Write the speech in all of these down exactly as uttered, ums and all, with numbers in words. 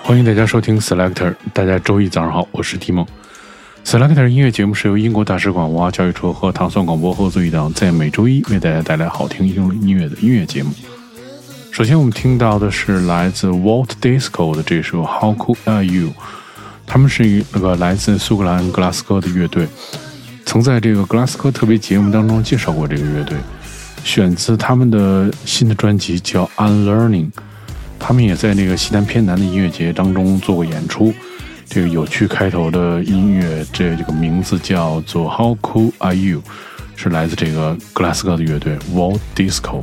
欢迎大家收听 Selector， 大家周一早上好，我是提梦。Selector 音乐节目是由英国大使馆文化教育处和糖蒜广播合作一档，在每周一为大家带来好听英伦音乐的音乐节目。首先我们听到的是来自 Walt Disco 的这首 How Cool Are You， 他们是一个来自苏格兰格拉斯哥的乐队，曾在这个格拉斯哥特别节目当中介绍过这个乐队，选自他们的新的专辑叫 Unlearning。他们也在那个西南偏南的音乐节当中做过演出。这个有趣开头的音乐，这这个名字叫做 How Cool Are You， 是来自这个格拉斯哥的乐队 Walt Disco。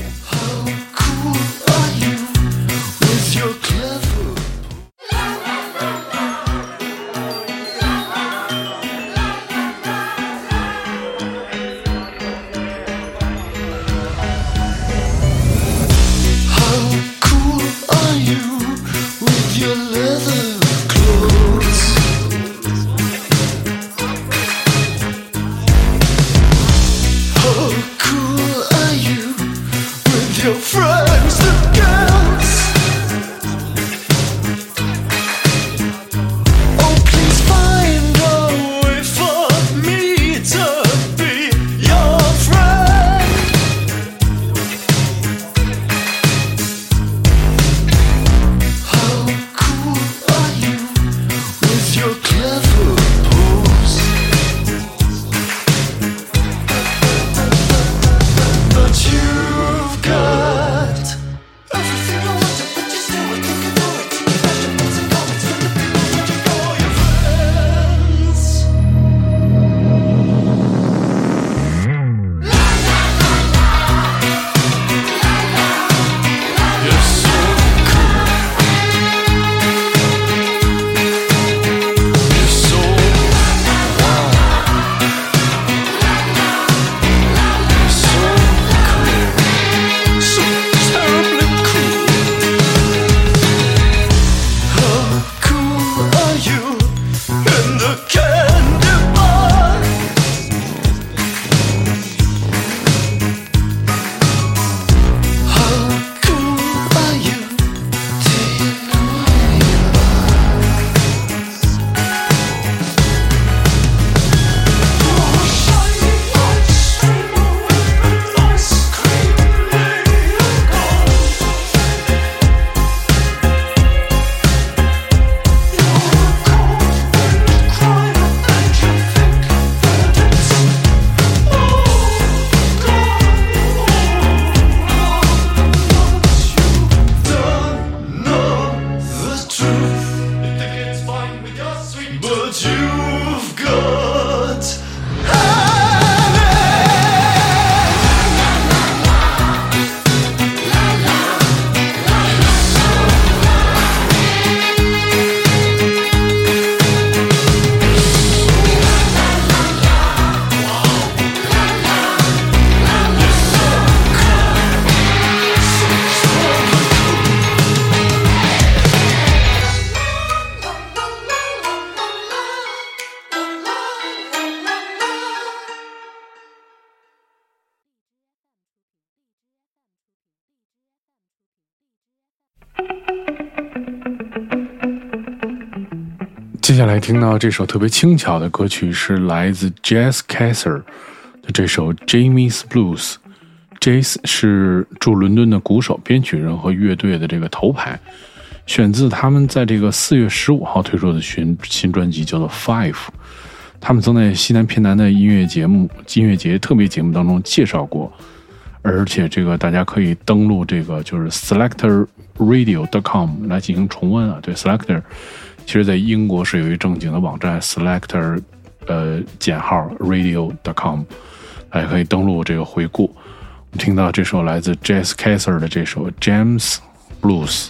接下来听到这首特别轻巧的歌曲是来自 Jazz Kaiser 的这首 Jamie's Blues。Jazz 是驻伦敦的鼓手、编曲人和乐队的这个头牌，选自他们在这个四月十五号推出的新新专辑叫做 Five。他们曾在西南偏南的音乐节目、音乐节特别节目当中介绍过，而且这个大家可以登录这个就是 selector radio dot com 来进行重温啊。对 ，Selector。其实在英国是有一正经的网站 selector 呃减号 radio dot com， 大家可以登录这个回顾。我们听到这首来自 Jazz Kaiser 的这首 Jamie's Blues。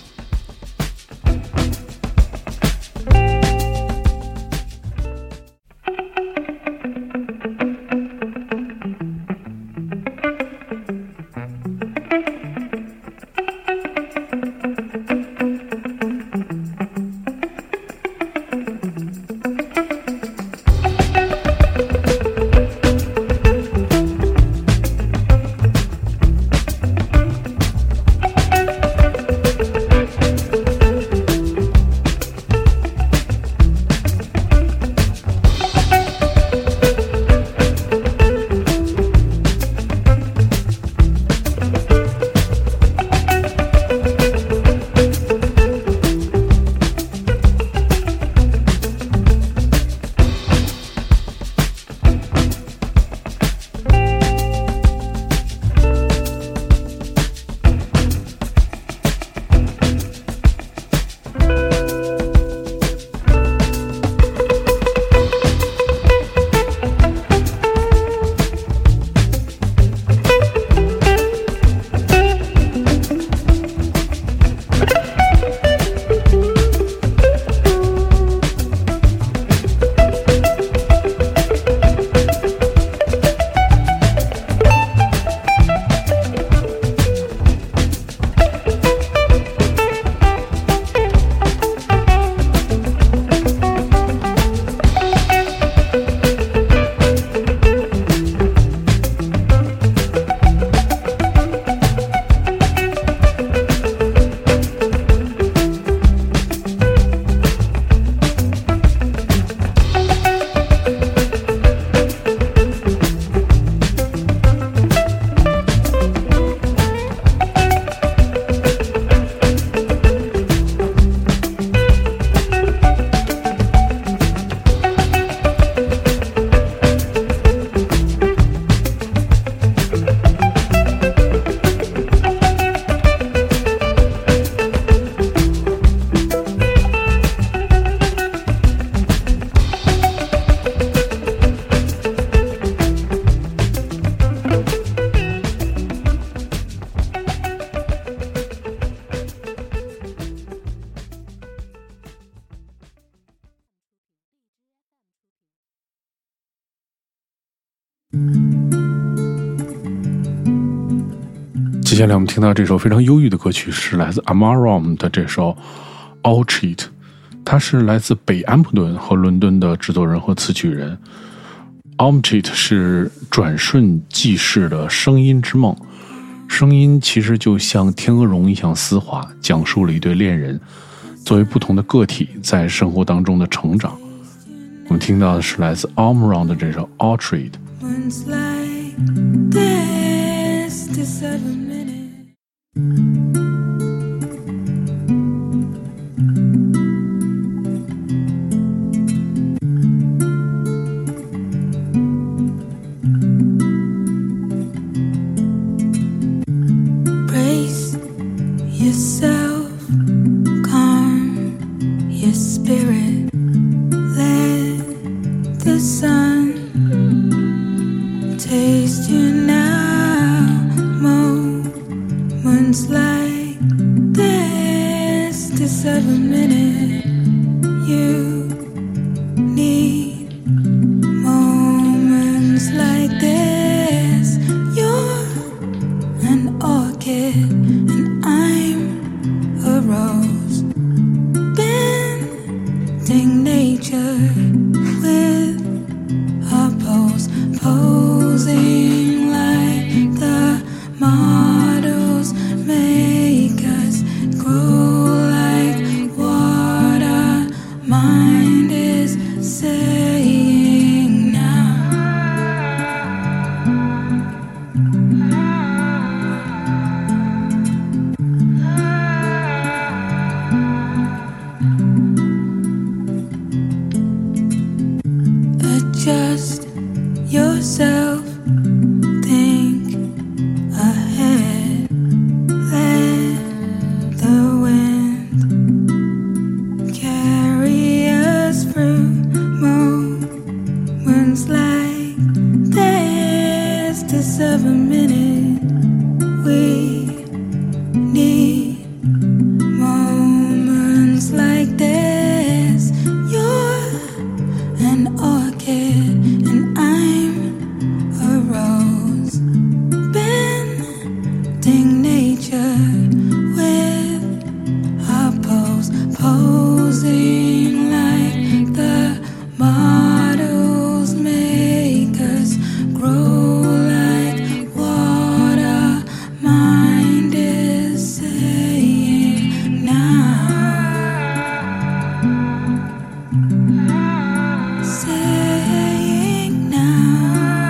接下来我们听到这首非常忧郁的歌曲是来自 Amaram 的这首 Orchid， 他是来自北安普顿和伦敦的制作人和词曲人。 Orchid 是转瞬即逝的声音之梦，声音其实就像天鹅绒一样丝滑，讲述了一对恋人作为不同的个体在生活当中的成长。我们听到的是来自 Amaram 的这首 Orchid。 Yourself, calm your spirit, let the sun taste you now. Moments like this deserve a minute. You need moments like this. You're an orchid and I'm a rose, bending nature with a pose, posing like the models make us grow like water. Mind is saying now. Adjust yourself, think ahead, let the wind carry us through. Moments like this deserve a minute. We need moments like this. You're an orchid and I'm a rose, bending nature with a pose, posing like the models make us grow like water. Mind is saying now. Saying now.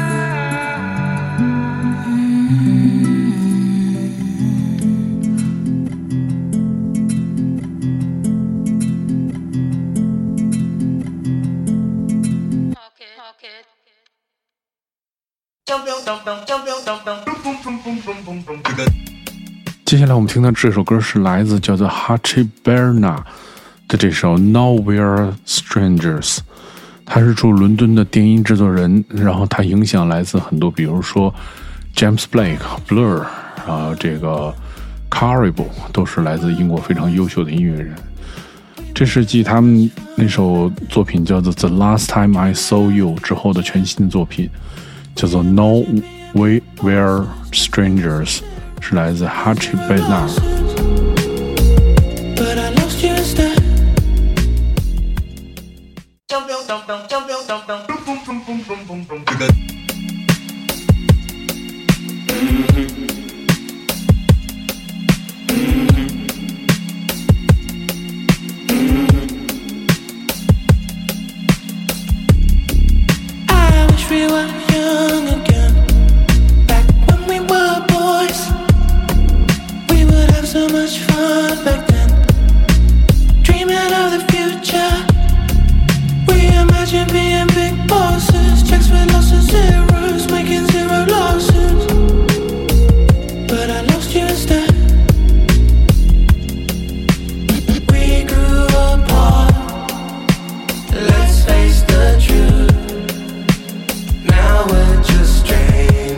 Mm. 接下来我们听到这首歌是来自叫做 Hachi Berna 的这首 Nowhere Strangers， 他是驻伦敦的电音制作人，然后他影响来自很多，比如说 James Blake、Blur， 然后这个 Caribou 都是来自英国非常优秀的音乐人。这是继他们那首作品叫做 The Last Time I Saw You 之后的全新的作品，叫做 Nowhere Strangers， 是来自 Hachi Berna。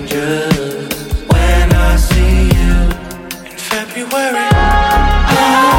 February.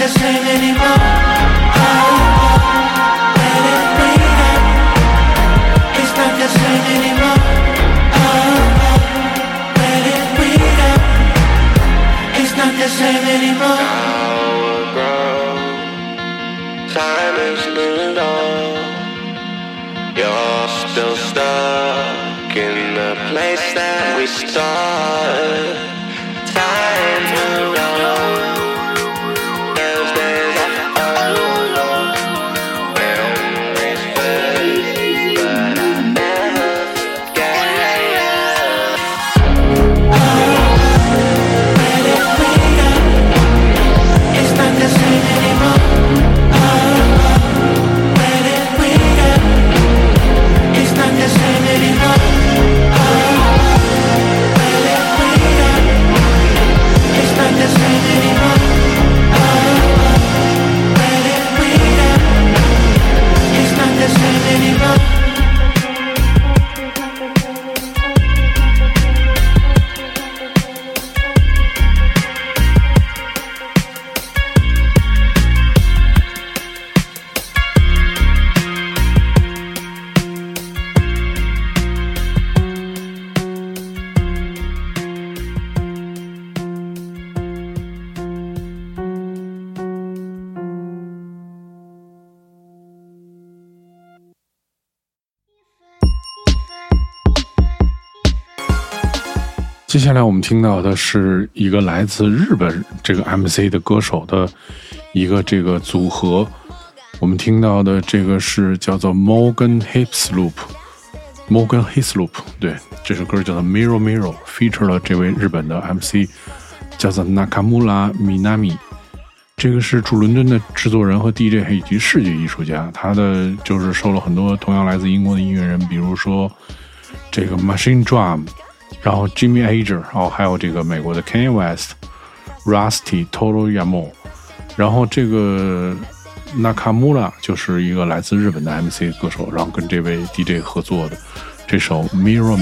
the same anymore. Oh, let it bleed up. It's not the same anymore. Oh, let it bleed up. It's not the same anymore. Time is moved on. You're still stuck in the place that we started. Time moved on. Those days are over. Memories fade, but I never forget. Oh, let it bleed up. It's not the same anymore. The same anymore. Oh, let it bleed up. It's not the same anymore. Oh, let it bleed up. It's not the same anymore. 接下来我们听到的是一个来自日本这个 M C 的歌手的一个这个组合，我们听到的这个是叫做 Morgan Hislop Morgan Hislop 对，这首歌叫做 Mirror Mirror， feature 了这位日本的 M C 叫做 Nakamura Minami， 这个是驻伦敦的制作人和 D J 以及视觉艺术家，他的就是受了很多同样来自英国的音乐人，比如说这个 Machine Drum，然后 Jimmy Ager， 然后还有这个美国的 Kanye West、Rusty、Toro Yamo， 然后这个 Nakamura 就是一个来自日本的 M C 歌手，然后跟這位 D J 合作的这首 Mirror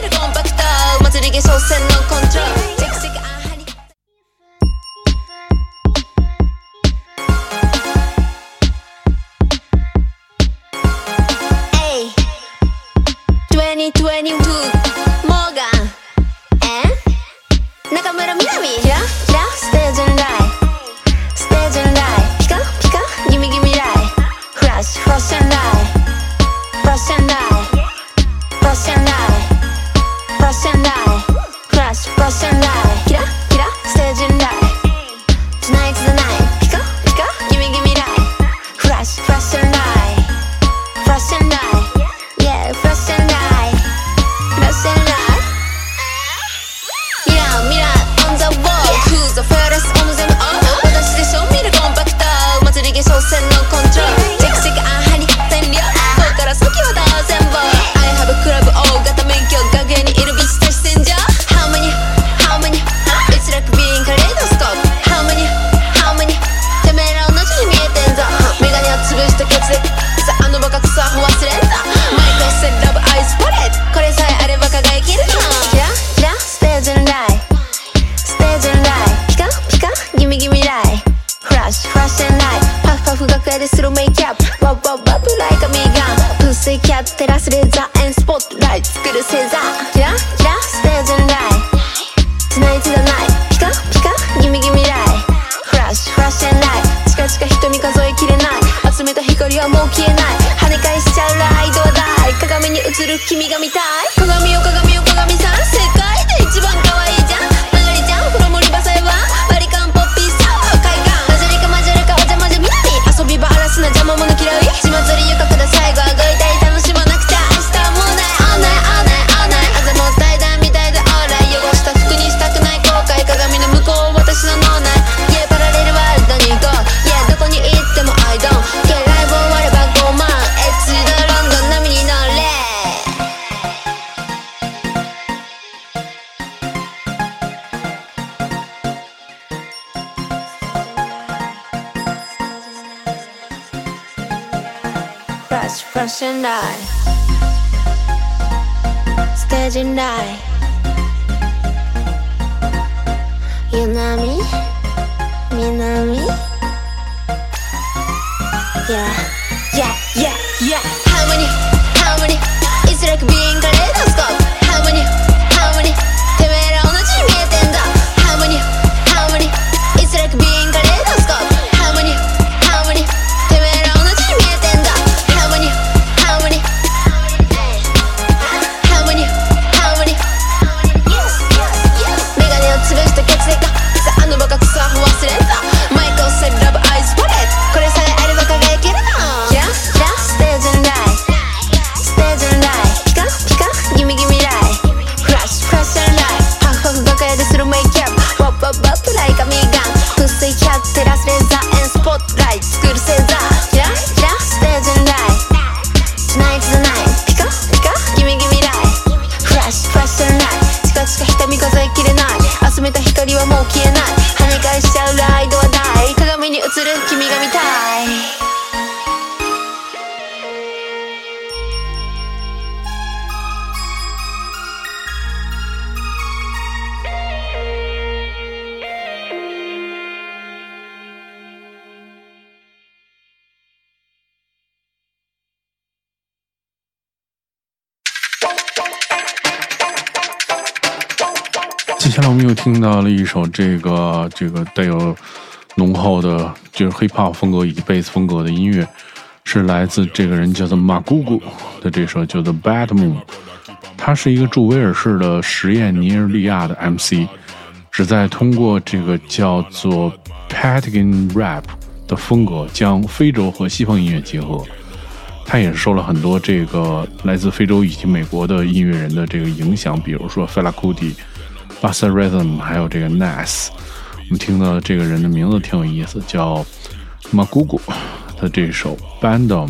Mirror、Crush、Crush and I、Stage and I、Yunami、Minami、 Yeah, yeah, yeah, yeah. Harmony, harmony. It's like being kaleidoscope. Harmony, harmony. てめえら同じに見えてんだ。Harmony, harmony. It's like being kaleidoscope. Harmony, harmony. てめえら同じに見えてんだ。Harmony, harmony. Harmony, harmony. メガネを潰した血液か。さああのバカクソアホ忘れた。マイクをセルラブアイズポレット。これさえあれば輝けるな。Yeah, yeah. ステージのライステージのライピカピカギミギミライフラッシュフラッシュのライハフハフバカやでするメイキャップワッワッワップライカミガン風水キャッテラスレーザーエンスポットライト作るセンサー Yeah, yeah. ステージのライTonight's the night ピカピカギミギミライフラッシュフラッシュのライチカチカ瞳数えきれない集めた光はもう消えない跳ね返しちゃうライドは大鏡に映る君が見たい接下来我们又听到了一首这个这个带有浓厚的就是 hip hop 风格以及贝斯风格的音乐，是来自这个人叫做马姑姑的这首叫做 Bad Moon。他是一个驻威尔士的实验尼日利亚的 M C， 旨在通过这个叫做 Patagon Rap 的风格将非洲和西方音乐结合。他也受了很多这个来自非洲以及美国的音乐人的这个影响，比如说 Fela Kuti、Bassa Rhythm 还有这个 Nas。 我们听到的这个人的名字挺有意思，叫 Magugu 的这首 Bandom。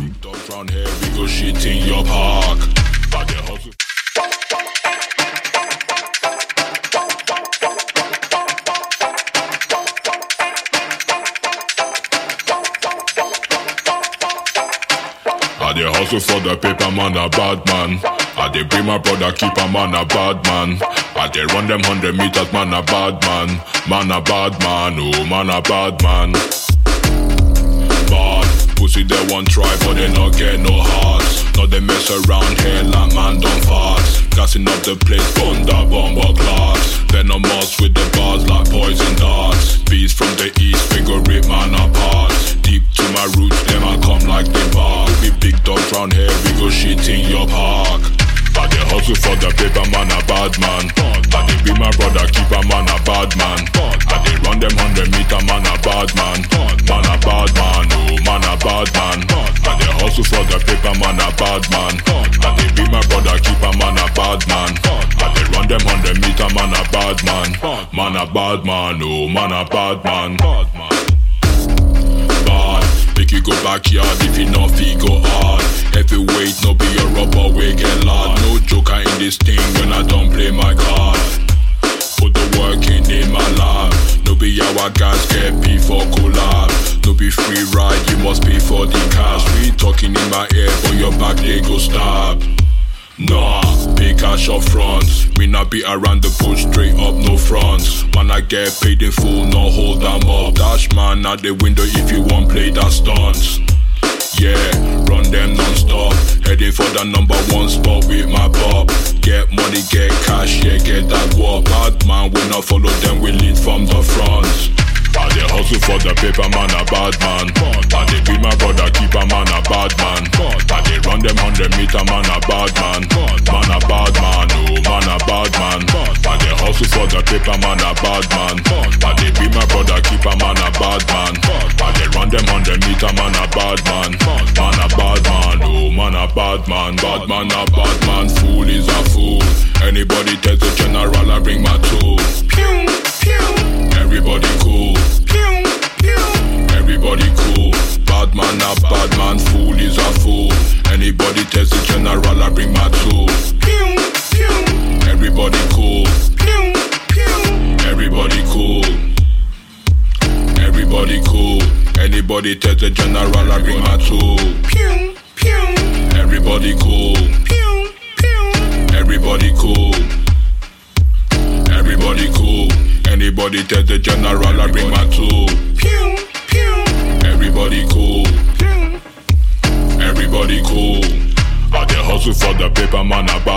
I dey hustle for the paper, man, a bad man. I dey bring my brother, keep a man, a bad man. I dey run them hundred meters, man, a bad man. Man, a bad man, oh, man, a bad man. Bad, pussy they want try, but they not get no hearts. Now they mess around here like man don't fast. Gassing up the place, bunda, bomber class. Venomous with the bars like poison darts. Beast from the east, figure it, man, apart. Deep to my roots, them I come like the bar. We big dogs round here, we go shit in your park. I dey hustle for the paper, man, a bad man. I dey be my brother, keep a man, a bad man. I dey run them hundred meter, man, a bad man. Man, a bad man, oh, man, a bad man. I dey hustle for the paper, man, a bad man. I dey be my brother, keep a man, a bad man. I dey run them hundred meter, man, a bad man. Man, a bad man, oh, man, a bad man. Bad, make you go backyard if you not feel go hard. Heavyweight, no be a rubber, we get loud. No joker in this thing when I don't play my card. Put the work in in my lab. No be our guys get pay for collab. No be free ride, you must pay for the cash. We talking in my ear, but your back they go stab. Nah, pay cash up front. We not be around the bush, straight up, no fronts. Man, I get paid in full, no hold them up. Dash man out the window if you want play that stunts. Yeah, run them non-stop. Heading for the number one spot with my bob. Get money, get cash, yeah, get that walk. Bad man, we not follow them, we lead from the front. I dey hustle for the paper, man, a bad man. I dey be my brother, keep a man, a bad man. I dey run them hundred meter, man, a bad man. Man, a bad man, oh, man, a bad man. I dey hustle for the paper, man, a bad man. I dey be my brother, keep a man, a bad man. I dey run them hundred meter, man, a bad man. Man, a bad man, oh, man, a bad man. Bad man, a bad man, fool is a fool. Anybody tell the general, I bring my tool. Pew, pew. Everybody cool. Pew, pew. Everybody cool. Bad man, a bad man, fool is a fool. Anybody tell the general, I bring my tool. Pew, pew. Everybody cool. Pew, pew. Everybody cool. Everybody cool. Anybody tell the general, I bring my tool. Pew, pew. Everybody cool. Pew, pew. Everybody cool. Everybody cool. Anybody tell the general, I bring my tool. Pew, pew. Everybody cool. Pew,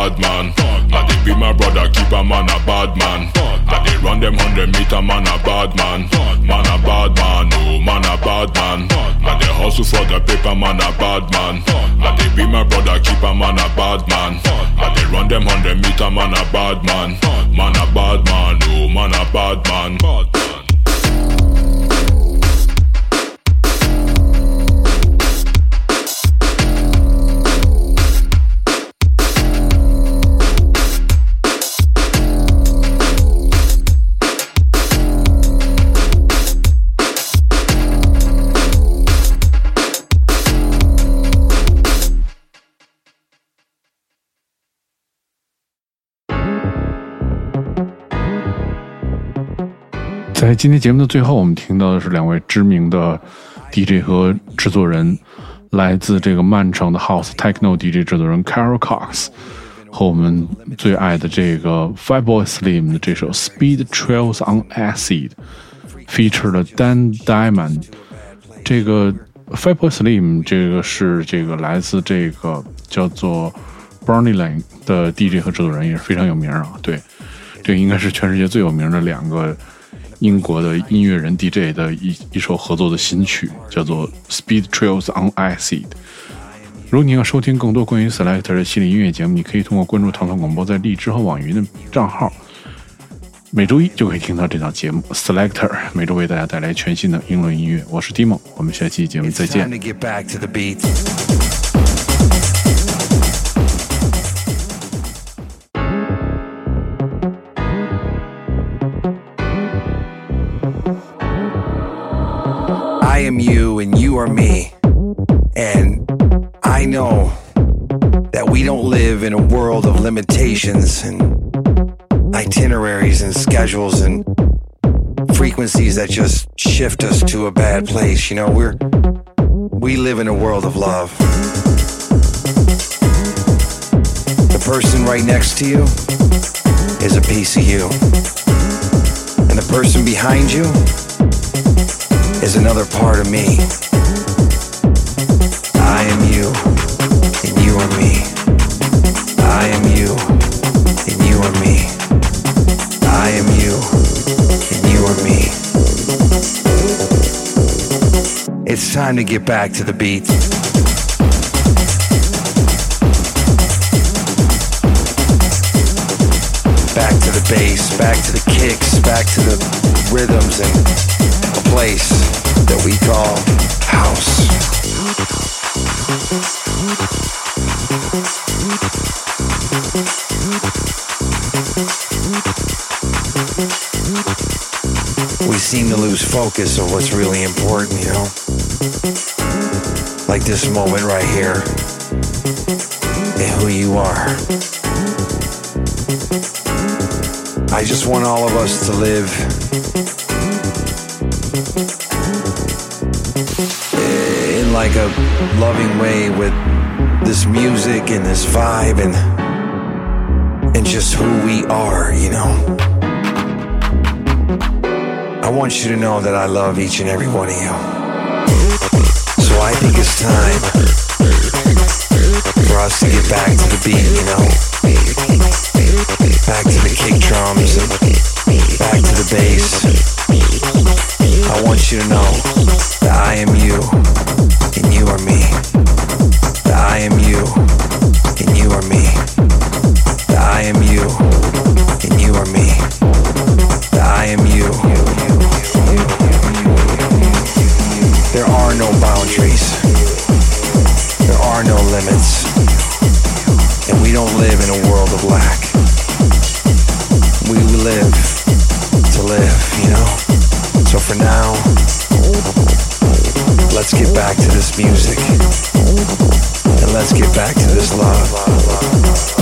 bad man. I they be my brother, keep a man a bad man. I they run them hundred meter, man a bad man. Man a bad man, oh man a bad man. I they hustle for the paper, man a bad man. I they be my brother, keep a man a bad man. I they run them hundred meter, man a bad man. Man a bad man, oh man a bad man. Bad man. 在今天节目的最后，我们听到的是两位知名的 D J 和制作人，来自这个曼城的 House Techno D J 制作人 Carol Cox 和我们最爱的这个 Fatboy Slim 的这首 Speed Trails on Acid feature 了 Dan Diamond。 这个 Fatboy Slim 这个是这个来自这个叫做 Barney Lane 的 D J 和制作人，也是非常有名啊。对，这个应该是全世界最有名的两个英国的音乐人 D J 的一一首合作的新曲，叫做 Speed Trails on Acid。 如果你要收听更多关于 Selector 的系列音乐节目，你可以通过关注唐宋广播在荔枝和网云的账号，每周一就可以听到这档节目 Selector， 每周为大家带来全新的英伦音乐。我是 Timo， 我们下期节目再见。 I am you and you are me, and I know that we don't live in a world of limitations and itineraries and schedules and frequencies that just shift us to a bad place. You know, we're we live in a world of love. The person right next to you is a piece of you, and the person behind you is another part of me. I am you, and you are me. I am you, and you are me. I am you, and you are me. It's time to get back to the beat. Back to the bass, back to the kicks, back to the rhythms and a place that we call house. We seem to lose focus of what's really important, you know? Like this moment right here and who you are. I just want all of us to live in like a loving way with this music and this vibe and and just who we are, you know. I want you to know that I love each and every one of you. So I think it's time for us to get back to the beat, you know. Back to the kick drums and back to the bass. I want you to know that I am you and you are me. That I am you and you are me. That I am you and you are me. That I am you. There are no boundaries. There are no limits. And we don't live in a world of lack. We live to live, you know? So for now, let's get back to this music. And let's get back to this love.